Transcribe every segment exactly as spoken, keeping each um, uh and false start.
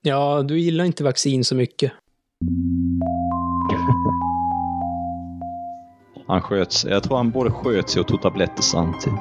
Ja, du gillar inte vaccin så mycket. Han sköts, jag tror han både sköt sig och tog tabletter samtidigt.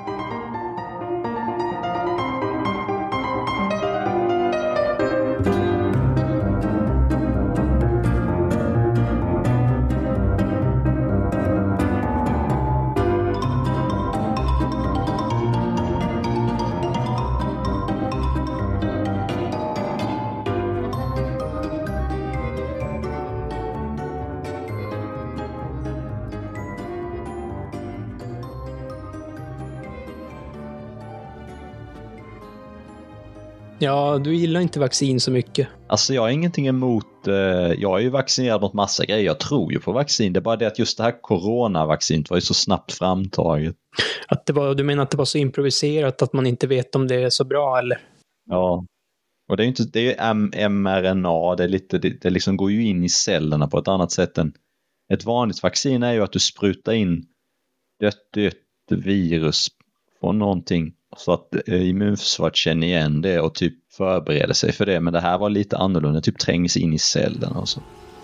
Ja, du gillar inte vaccin så mycket. Alltså jag har ingenting emot, eh, jag är ju vaccinerad mot massa grejer, jag tror ju på vaccin. Det är bara det att just det här coronavaccinet var ju så snabbt framtaget. Att det var, du menar att det var så improviserat att man inte vet om det är så bra, eller? Ja, och det är ju inte, det är ju M R N A, det, är lite, det, det liksom går ju in i cellerna på ett annat sätt än ett vanligt vaccin är ju att du sprutar in dött, dött virus från någonting så att immunförsvaret känner igen det och typ förbereder sig för det. Men det här var lite annorlunda, typ trängs in i cellerna och så.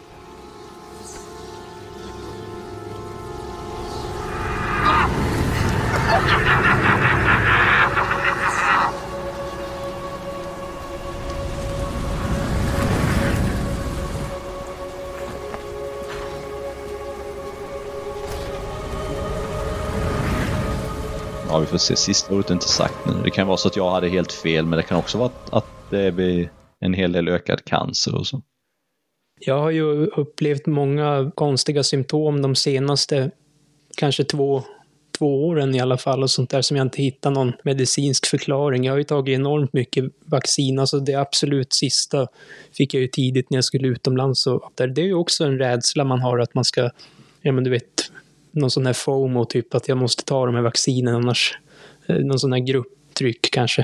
Ja, vi får se. Sista ordet är inte sagt nu. Det kan vara så att jag hade helt fel, men det kan också vara att, att det blir en hel del ökad cancer och så. Jag har ju upplevt många konstiga symptom de senaste kanske två, två åren i alla fall och sånt där som jag inte hittar någon medicinsk förklaring. Jag har ju tagit enormt mycket vaccin. Alltså det absolut sista fick jag ju tidigt när jag skulle utomlands. Och där. Det är ju också en rädsla man har att man ska, ja men du vet, någon sån här FOMO typ att jag måste ta de här vaccinen annars, någon sån här grupptryck kanske.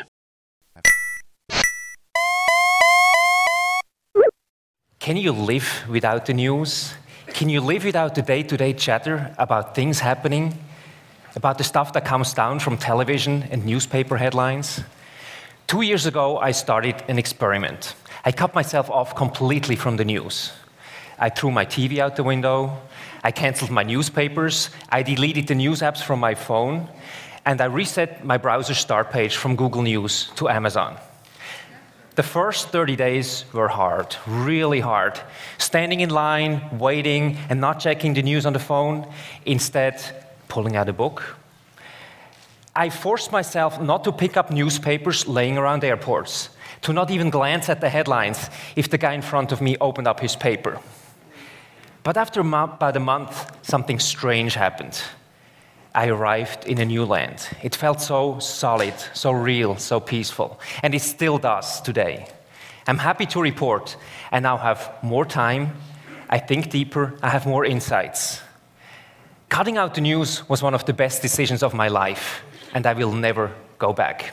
Can you live without the news? Can you live without the day-to-day chatter about things happening? About the stuff that comes down from television and newspaper headlines? Two years ago, I started an experiment. I cut myself off completely from the news. I threw my T V out the window. I canceled my newspapers. I deleted the news apps from my phone. And I reset my browser start page from Google News to Amazon. The first thirty days were hard, really hard. Standing in line, waiting, and not checking the news on the phone, instead pulling out a book. I forced myself not to pick up newspapers laying around airports, to not even glance at the headlines if the guy in front of me opened up his paper. But after about a month, something strange happened. I arrived in a new land. It felt so solid, so real, so peaceful. And it still does today. I'm happy to report I now have more time, I think deeper, I have more insights. Cutting out the news was one of the best decisions of my life, and I will never go back.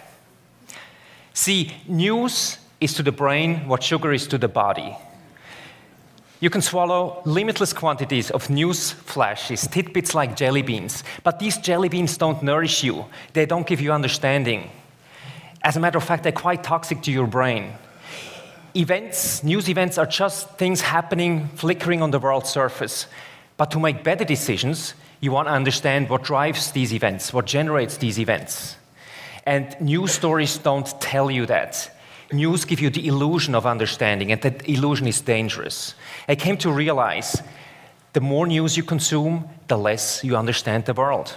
See, news is to the brain what sugar is to the body. You can swallow limitless quantities of news flashes, tidbits like jelly beans, but these jelly beans don't nourish you. They don't give you understanding. As a matter of fact, they're quite toxic to your brain. Events, news events are just things happening, flickering on the world's surface. But to make better decisions, you want to understand what drives these events, what generates these events. And news stories don't tell you that. News give you the illusion of understanding, and that illusion is dangerous. I came to realize the more news you consume, the less you understand the world.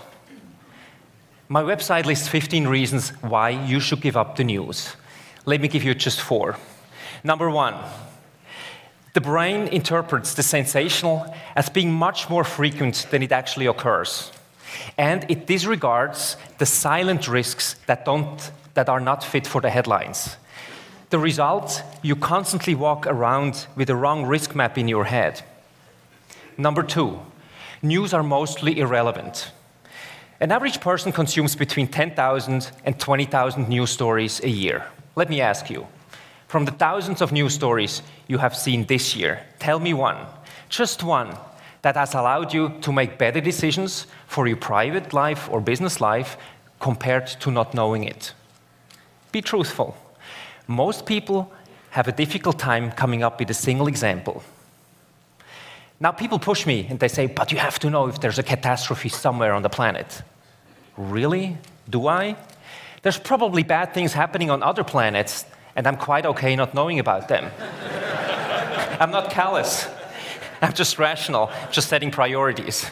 My website lists fifteen reasons why you should give up the news. Let me give you just four. Number one, the brain interprets the sensational as being much more frequent than it actually occurs. And it disregards the silent risks that, don't, that are not fit for the headlines. The result, you constantly walk around with the wrong risk map in your head. Number two, news are mostly irrelevant. An average person consumes between ten thousand and twenty thousand news stories a year. Let me ask you, from the thousands of news stories you have seen this year, tell me one, just one, that has allowed you to make better decisions for your private life or business life compared to not knowing it. Be truthful. Most people have a difficult time coming up with a single example. Now people push me and they say, but you have to know if there's a catastrophe somewhere on the planet. Really? Do I? There's probably bad things happening on other planets, and I'm quite okay not knowing about them. I'm not callous. I'm just rational, just setting priorities.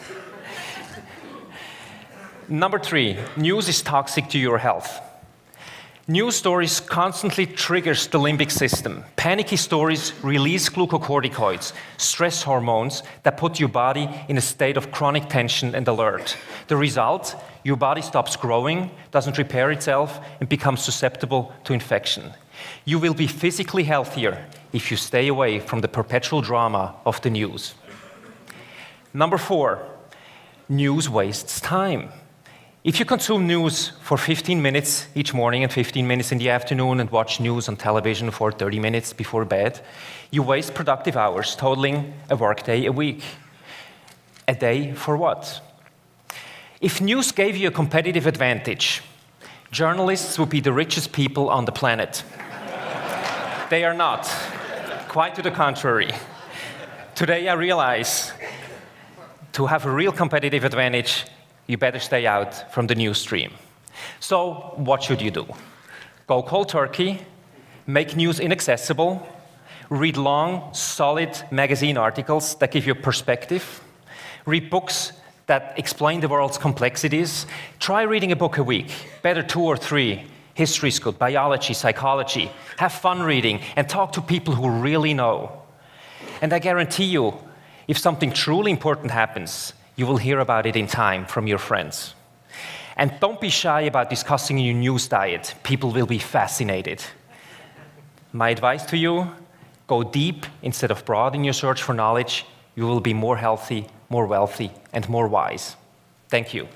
Number three, news is toxic to your health. News stories constantly triggers the limbic system. Panicky stories release glucocorticoids, stress hormones that put your body in a state of chronic tension and alert. The result, your body stops growing, doesn't repair itself, and becomes susceptible to infection. You will be physically healthier if you stay away from the perpetual drama of the news. Number four, news wastes time. If you consume news for fifteen minutes each morning and fifteen minutes in the afternoon and watch news on television for thirty minutes before bed, you waste productive hours, totaling a workday a week. A day for what? If news gave you a competitive advantage, journalists would be the richest people on the planet. They are not. Quite to the contrary. Today I realize to have a real competitive advantage, you better stay out from the news stream. So what should you do? Go cold turkey, make news inaccessible, read long, solid magazine articles that give you perspective, read books that explain the world's complexities. Try reading a book a week, better two or three. History is good, biology, psychology. Have fun reading and talk to people who really know. And I guarantee you, if something truly important happens, you will hear about it in time from your friends. And don't be shy about discussing your news diet. People will be fascinated. My advice to you, go deep instead of broad in your search for knowledge. You will be more healthy, more wealthy, and more wise. Thank you.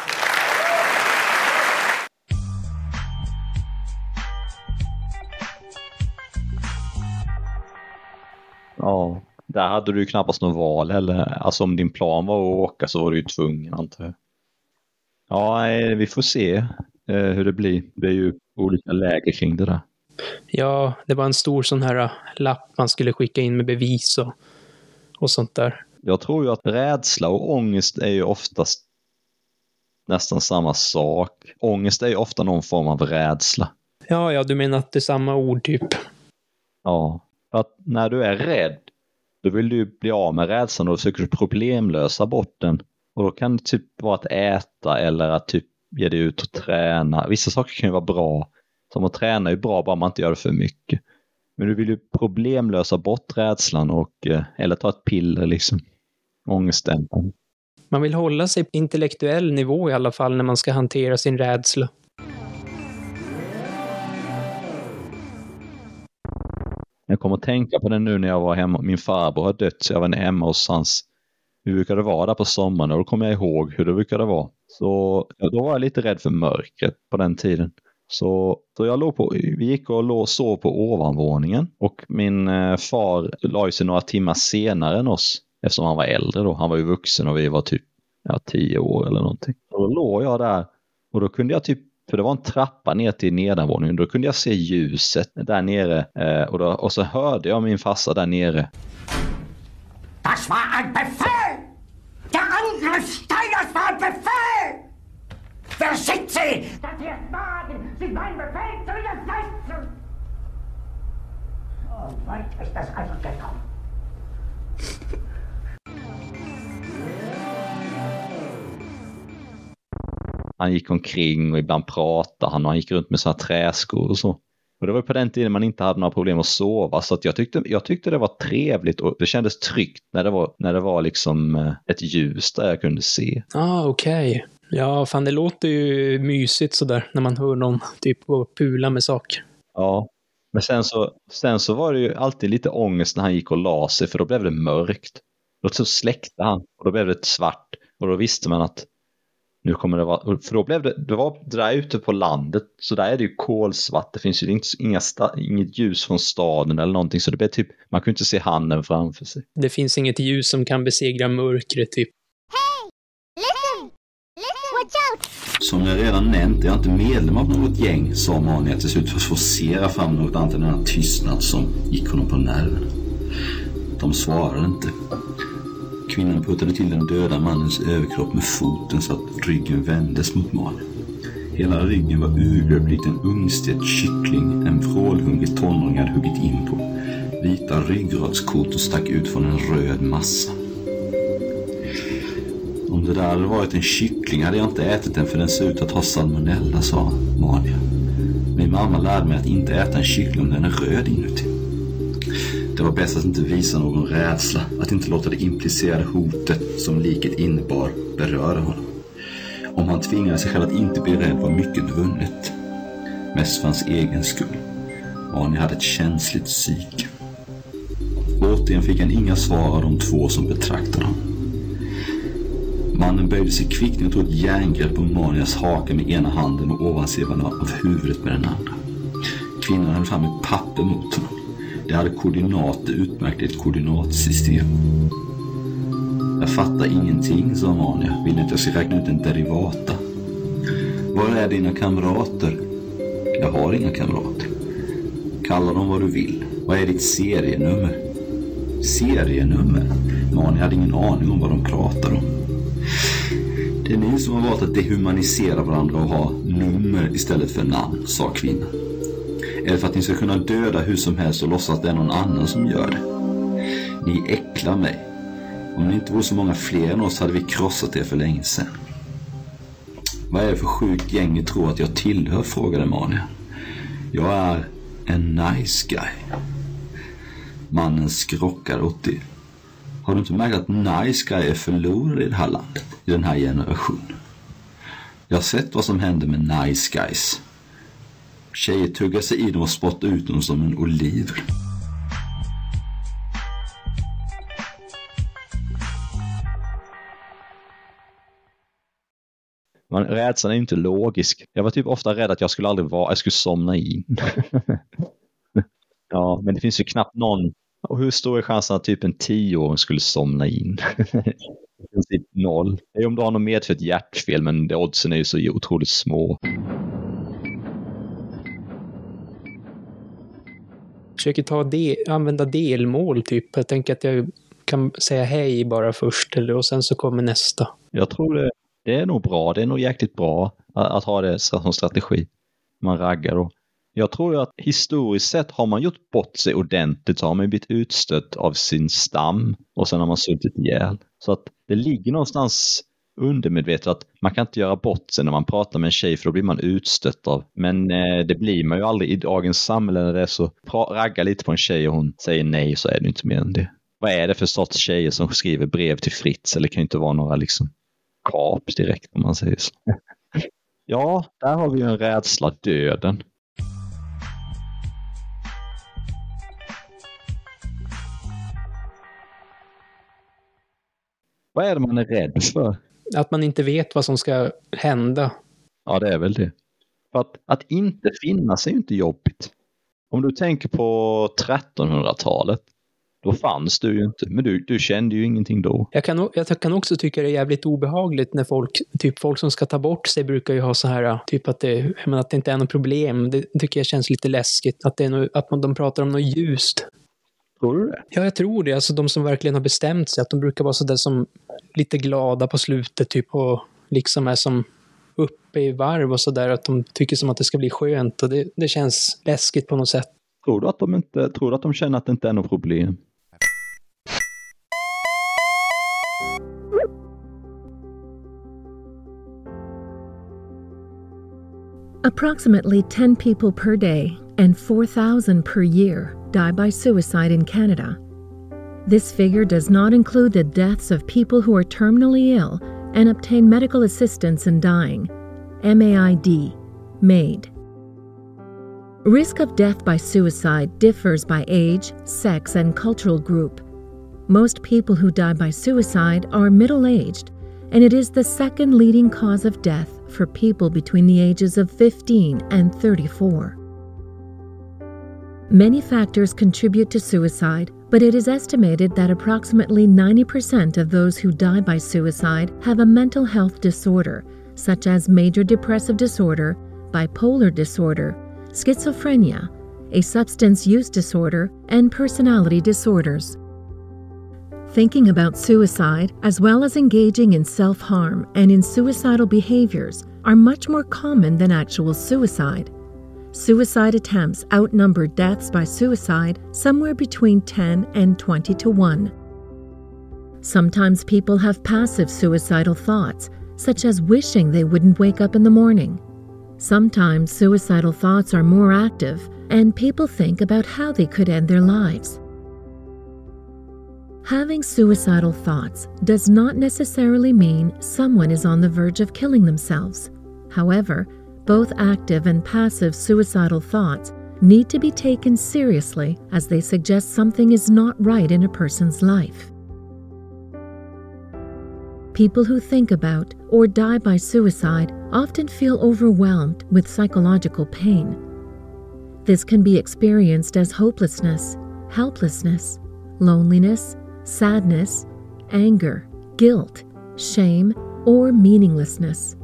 Ja, där hade du ju knappast något val eller, alltså om din plan var att åka så var du ju tvungen, antar jag. Ja, vi får se eh, hur det blir. Det är ju olika läger kring det där. Ja, det var en stor sån här lapp man skulle skicka in med bevis och, och sånt där. Jag tror ju att rädsla och ångest är ju oftast nästan samma sak. Ångest är ju ofta någon form av rädsla. Ja, ja, du menar att det är samma ord typ. Ja, för att när du är rädd, då vill du bli av med rädslan och försöker problemlösa bort den. Och då kan det typ vara att äta eller att typ ge dig ut och träna. Vissa saker kan ju vara bra. Som att träna är bra bara man inte gör det för mycket. Men du vill ju problemlösa bort rädslan och, eller ta ett piller liksom. Ångesten. Man vill hålla sig på intellektuell nivå i alla fall när man ska hantera sin rädsla. Jag kommer att tänka på det nu när jag var hemma. Min farbror har dött så jag var hemma hos hans. Hur brukade det vara där på sommaren? Och då kommer jag ihåg hur det brukade vara. Så ja, då var jag lite rädd för mörkret på den tiden. Så, så jag låg på, vi gick och låg, sov på ovanvåningen. Och min eh, far la sig några timmar senare än oss. Eftersom han var äldre då. Han var ju vuxen och vi var typ ja, tio år eller någonting. Och då låg jag där. Och då kunde jag typ, för det var en trappa ner till nedanvåningen. Då kunde jag se ljuset där nere. Eh, och, då, och så hörde jag min farsa där nere. Das war ein Befehl! Der Angriff Steiners war ein Befehl! Versicht sie, dass sie es wagen, sich mein Befehl zu widersetzen! So weit ist das also gekommen. Han gick omkring och ibland pratade han och han gick runt med såna träskor och så. Och det var på den tiden man inte hade några problem att sova. Så att jag, tyckte, jag tyckte det var trevligt och det kändes tryggt när det var, när det var liksom ett ljus där jag kunde se. Ah, okej. Okay. Ja, fan det låter ju mysigt sådär när man hör någon typ gå och pula med saker. Ja, men sen så, sen så var det ju alltid lite ångest när han gick och la sig för då blev det mörkt. Då så släckte han och då blev det svart och då visste man att nu kommer det vara, för då blev det, det var där ute på landet så där är det ju kolsvart, det finns ju inte, inga sta, inget ljus från staden eller någonting så det blev typ, man kunde inte se handen framför sig. Det finns inget ljus som kan besegra mörkret typ. Hey! Listen! Listen! Watch out! Som jag redan nämnt är jag inte medlem av något gäng, sa Mania till slut för att forcera fram något annat än den tystnad som gick honom på nerven. De svarade inte. Kvinnan puttade till den döda mannens överkropp med foten så att ryggen vändes mot Mania. Hela ryggen var urgröpt en ungstekt kyckling en vrålhungrig tonåring hade huggit in på. Vita ryggradskotor stack ut från en röd massa. Om det där hade varit en kyckling hade jag inte ätit den för den ser ut att ha salmonella, sa Mania. Min mamma lärde mig att inte äta en kyckling om den är röd inuti. Det var bäst att inte visa någon rädsla, att inte låta det implicerade hotet som liket innebar beröra honom. Om han tvingade sig själv att inte bli rädd var mycket vunnet. Mest för hans egen skull. Mania hade ett känsligt psyke. Återigen fick han inga svar av de två som betraktade honom. Mannen böjde sig kvickt och tog ett järngrepp om Manias haka med ena handen och ovansidan av huvudet med den andra. Kvinnan hade fram ett papper mot honom. Det hade koordinater utmärkt ett koordinatsystem. Jag fattar ingenting, sa Mania. Vill inte att jag ska räkna ut en derivata? Var är dina kamrater? Jag har inga kamrater. Kalla dem vad du vill. Vad är ditt serienummer? Serienummer? Mania hade ingen aning om vad de pratar om. Det är ni som har valt att dehumanisera varandra och ha nummer istället för namn, sa kvinnan. Eller för att ni ska kunna döda hur som helst och låtsas att det är någon annan som gör det. Ni äcklar mig. Om ni inte vore så många fler än oss hade vi krossat er för länge sedan. Vad är det för sjuk gäng ni tror att jag tillhör, frågade Mania. Jag är en nice guy. Mannen skrockar åt det. Har du inte märkt att nice guy är förlorade i det här landet, i den här generationen? Jag har sett vad som händer med nice guys. Tjejer tuggar sig i dem och spottar ut dem som en oliver. Man, rädslan är inte logisk. Jag var typ ofta rädd att jag skulle aldrig vara, jag skulle somna in. Ja, men det finns ju knappt någon. Och hur stor är chansen att typ en tioåring skulle somna in? I princip noll. Det är om du har något medfött hjärtfel, men det oddsen är ju så otroligt små. Försöker ta de, använda delmål typ. Jag tänker att jag kan säga hej bara först eller, och sen så kommer nästa. Jag tror det, det är nog bra. Det är nog jäkligt bra att, att ha det som strategi. Man raggar då. Jag tror ju att historiskt sett har man gjort bort sig ordentligt, så har man blivit utstött av sin stam och sen har man suttit ihjäl. Så att det ligger någonstans undermedvetet att man kan inte göra bort sig när man pratar med en tjej, för då blir man utstött av. Men eh, det blir man ju aldrig i dagens samhälle när det är så. Ragga lite på en tjej och hon säger nej, så är det inte mer än det. Vad är det för sorts tjejer som skriver brev till Fritz? Eller kan ju inte vara några liksom kap direkt om man säger så. Ja, där har vi ju en rädsla, döden. Vad är det man är rädd för? Att man inte vet vad som ska hända. Ja, det är väl det. För att, att inte finnas är ju inte jobbigt. Om du tänker på trettonhundratalet, då fanns du ju inte. Men du, du kände ju ingenting då. Jag kan, jag kan också tycka det är jävligt obehagligt när folk, typ folk som ska ta bort sig brukar ju ha så här, typ att det, men att det inte är något problem. Det tycker jag känns lite läskigt. Att, det är no, att man, de pratar om något ljust. Tror du det? Ja, jag tror det. Alltså de som verkligen har bestämt sig, att de brukar vara så där som lite glada på slutet typ, och liksom är som uppe i varv och så där, att de tycker som att det ska bli skönt, och det, det känns läskigt på något sätt. Tror du att de inte, tror du att de känner att det inte är något problem? Approximately ten people per day and four thousand per year die by suicide in Canada. This figure does not include the deaths of people who are terminally ill and obtain medical assistance in dying, M A I D, MAID. Risk of death by suicide differs by age, sex, and cultural group. Most people who die by suicide are middle-aged, and it is the second leading cause of death for people between the ages of fifteen and thirty-four. Many factors contribute to suicide, but it is estimated that approximately ninety percent of those who die by suicide have a mental health disorder, such as major depressive disorder, bipolar disorder, schizophrenia, a substance use disorder, and personality disorders. Thinking about suicide, as well as engaging in self-harm and in suicidal behaviors, are much more common than actual suicide. Suicide attempts outnumber deaths by suicide somewhere between ten and twenty to one. Sometimes people have passive suicidal thoughts, such as wishing they wouldn't wake up in the morning. Sometimes suicidal thoughts are more active, and people think about how they could end their lives. Having suicidal thoughts does not necessarily mean someone is on the verge of killing themselves. However, both active and passive suicidal thoughts need to be taken seriously, as they suggest something is not right in a person's life. People who think about or die by suicide often feel overwhelmed with psychological pain. This can be experienced as hopelessness, helplessness, loneliness, sadness, anger, guilt, shame, or meaninglessness.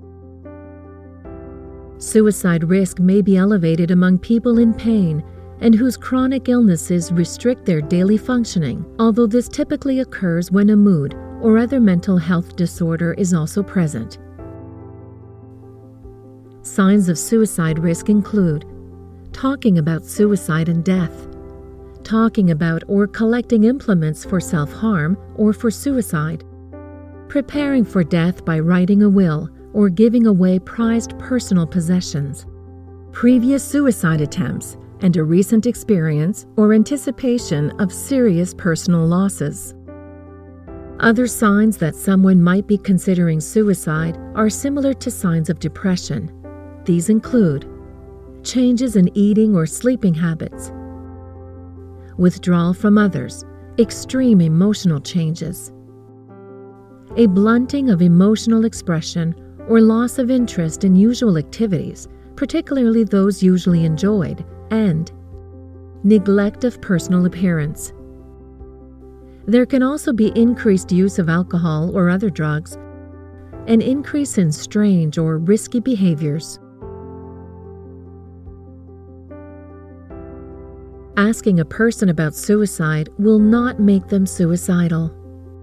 Suicide risk may be elevated among people in pain and whose chronic illnesses restrict their daily functioning, although this typically occurs when a mood or other mental health disorder is also present. Signs of suicide risk include talking about suicide and death, talking about or collecting implements for self-harm or for suicide, preparing for death by writing a will or giving away prized personal possessions, previous suicide attempts, and a recent experience or anticipation of serious personal losses. Other signs that someone might be considering suicide are similar to signs of depression. These include changes in eating or sleeping habits, withdrawal from others, extreme emotional changes, a blunting of emotional expression or loss of interest in usual activities, particularly those usually enjoyed, and neglect of personal appearance. There can also be increased use of alcohol or other drugs, an increase in strange or risky behaviors. Asking a person about suicide will not make them suicidal.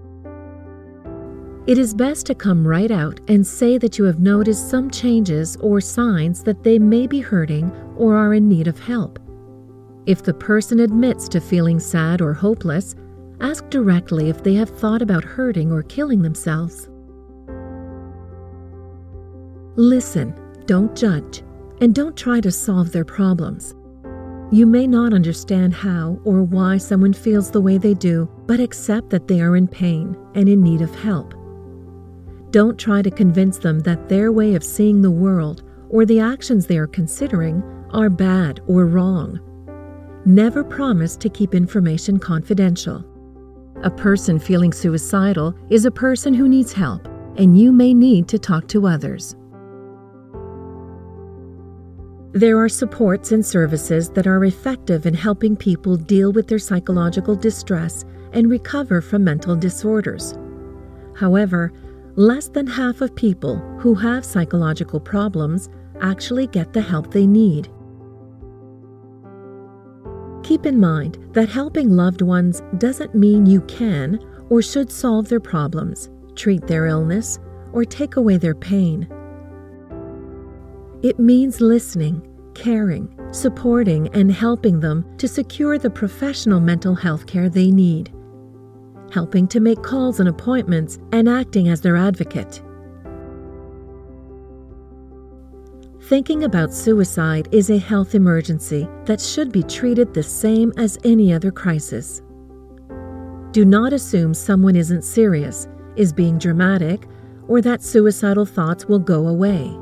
It is best to come right out and say that you have noticed some changes or signs that they may be hurting or are in need of help. If the person admits to feeling sad or hopeless, ask directly if they have thought about hurting or killing themselves. Listen, don't judge, and don't try to solve their problems. You may not understand how or why someone feels the way they do, but accept that they are in pain and in need of help. Don't try to convince them that their way of seeing the world or the actions they are considering are bad or wrong. Never promise to keep information confidential. A person feeling suicidal is a person who needs help, and you may need to talk to others. There are supports and services that are effective in helping people deal with their psychological distress and recover from mental disorders. However, less than half of people who have psychological problems actually get the help they need. Keep in mind that helping loved ones doesn't mean you can or should solve their problems, treat their illness, or take away their pain. It means listening, caring, supporting, and helping them to secure the professional mental health care they need, helping to make calls and appointments, and acting as their advocate. Thinking about suicide is a health emergency that should be treated the same as any other crisis. Do not assume someone isn't serious, is being dramatic, or that suicidal thoughts will go away.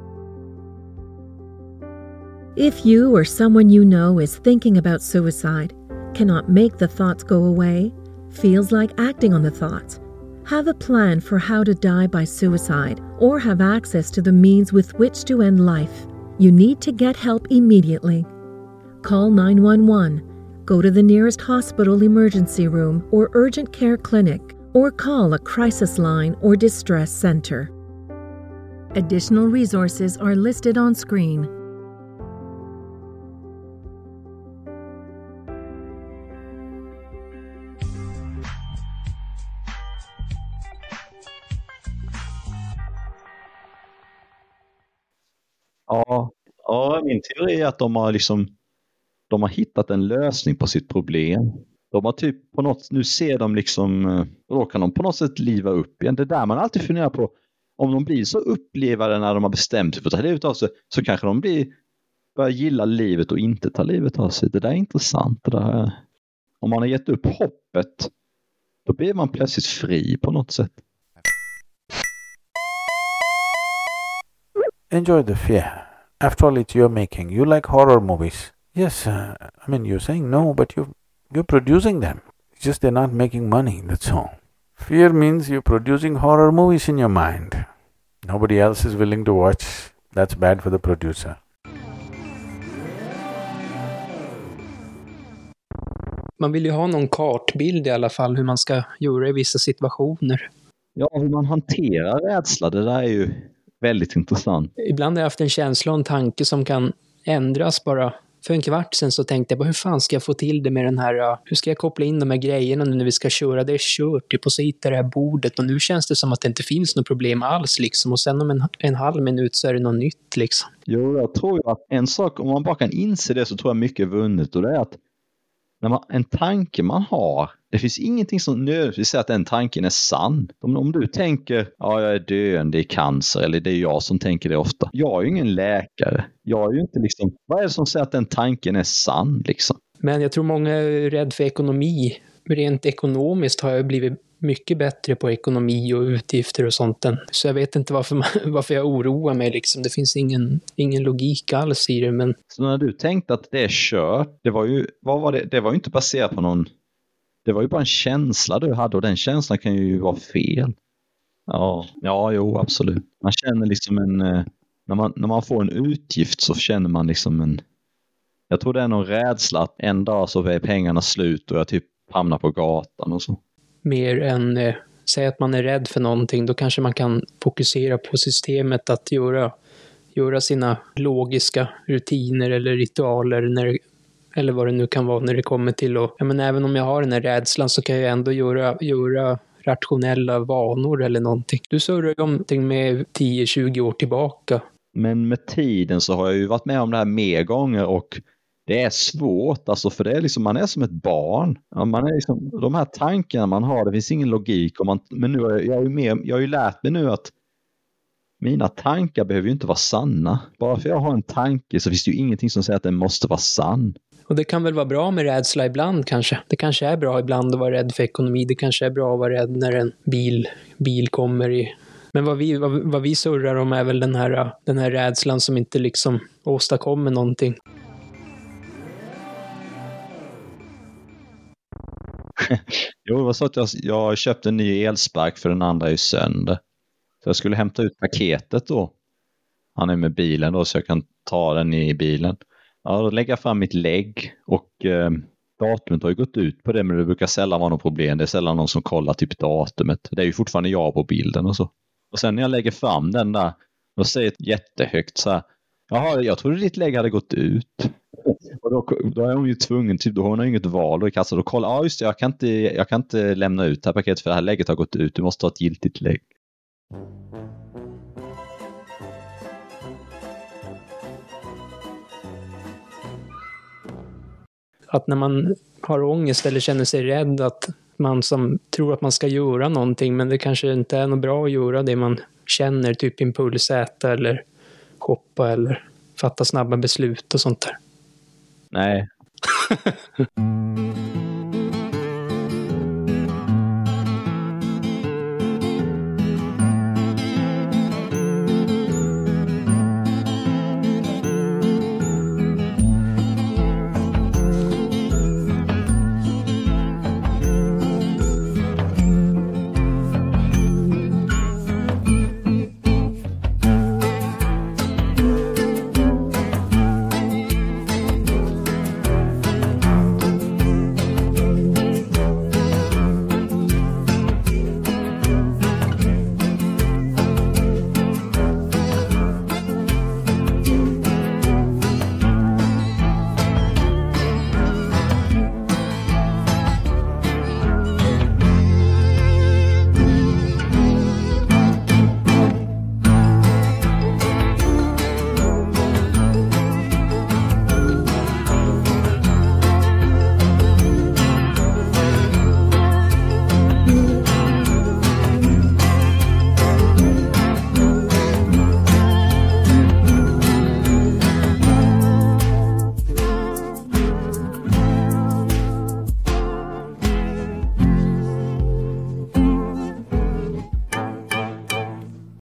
If you or someone you know is thinking about suicide, cannot make the thoughts go away, feels like acting on the thoughts, have a plan for how to die by suicide, or have access to the means with which to end life, you need to get help immediately. Call nine one one, go to the nearest hospital emergency room or urgent care clinic, or call a crisis line or distress center. Additional resources are listed on screen. Ja, ja, min teori är att de har liksom de har hittat en lösning på sitt problem. De har typ på något, nu ser de liksom, då kan de på något sätt liva upp igen. Det där man alltid funderar på, om de blir så upplevade när de har bestämt sig för att ta livet av sig, så kanske de blir, börjar gilla livet och inte ta livet av sig. Det där är intressant. Det där. Om man har gett upp hoppet, då blir man plötsligt fri på något sätt. Enjoy the fear. After all, it's your making. You like horror movies. Yes, uh, I mean, you're saying no, but you're, you're producing them. It's just they're not making money, that's all. Fear means you're producing horror movies in your mind. Nobody else is willing to watch. That's bad for the producer. Man vill ju ha någon kartbild i alla fall hur man ska göra i vissa situationer. Ja, hur man hanterar rädsla, det där är ju väldigt intressant. Ibland har jag haft en känsla och en tanke som kan ändras bara. För en kvart sen så tänkte jag bara, hur fan ska jag få till det med den här, hur ska jag koppla in de här grejerna nu när vi ska köra, det är kört, typ, och så hittar det här bordet och nu känns det som att det inte finns något problem alls liksom, och sen om en, en halv minut så är det något nytt liksom. Jo, jag tror ju att en sak, om man bara kan inse det, så tror jag mycket är vunnet, och det är att när man, en tanke man har, det finns ingenting som nödvändigtvis säger att den tanken är sann. Om, om du tänker, ja jag är döende i cancer, eller det är jag som tänker det ofta. Jag är ju ingen läkare. Jag är ju inte liksom, vad är det som säger att den tanken är sann liksom? Men jag tror många är rädd för ekonomi. Rent ekonomiskt har jag blivit mycket bättre på ekonomi och utgifter och sånt. Så jag vet inte varför, man, varför jag oroar mig liksom. Det finns ingen, ingen logik alls i det. Men... Så när du tänkte att det är kört, det var ju, vad var det? Det var ju inte baserat på någon, det var ju bara en känsla du hade, och den känslan kan ju vara fel. Ja, ja jo absolut. Man känner liksom en, när man, när man får en utgift så känner man liksom en, jag tror det är någon rädsla att en dag så är pengarna slut och jag typ hamnar på gatan och så. Mer än, eh, säg att man är rädd för någonting, då kanske man kan fokusera på systemet att göra, göra sina logiska rutiner eller ritualer när, eller vad det nu kan vara när det kommer till att, ja, men även om jag har den här rädslan så kan jag ändå göra, göra rationella vanor eller någonting. Du surrar ju om någonting med tio tjugo år tillbaka. Men med tiden så har jag ju varit med om det här mer gånger, och det är svårt, alltså, för det är liksom, man är som ett barn. Ja, man är liksom, de här tankarna man har, det finns ingen logik. Och man, men nu har jag, jag, är ju mer, jag har ju lärt mig nu att mina tankar behöver ju inte vara sanna. Bara för jag har en tanke så finns det ju ingenting som säger att den måste vara sann. Och det kan väl vara bra med rädsla ibland kanske. Det kanske är bra ibland att vara rädd för ekonomi. Det kanske är bra att vara rädd när en bil, bil kommer i... Men vad vi, vad, vad vi surrar om är väl den här, den här rädslan som inte liksom åstadkommer någonting. Jo, det var så att jag, jag köpte en ny elspark för den andra är ju sönder. Så jag skulle hämta ut paketet då. Han är med bilen då, så jag kan ta den i bilen. Ja, då lägger jag fram mitt lägg, och eh, datumet har ju gått ut på det, men det brukar sällan vara något problem. Det är sällan någon som kollar typ datumet. Det är ju fortfarande jag på bilden och så. Och sen när jag lägger fram den där, då säger ett jättehögt så här, jaha, jag trodde ditt lägg hade gått ut. Och då, då är hon ju tvungen, typ, då har hon ju inget val då i kassan. Då kollar, ja just det, jag kan, inte, jag kan inte lämna ut det här paketet för det här lägget har gått ut. Du måste ha ett giltigt lägg. Att när man har ångest eller känner sig rädd, att man som tror att man ska göra någonting, men det kanske inte är något bra att göra det man känner, typ impulsäta eller shoppa eller fatta snabba beslut och sånt där. Nej.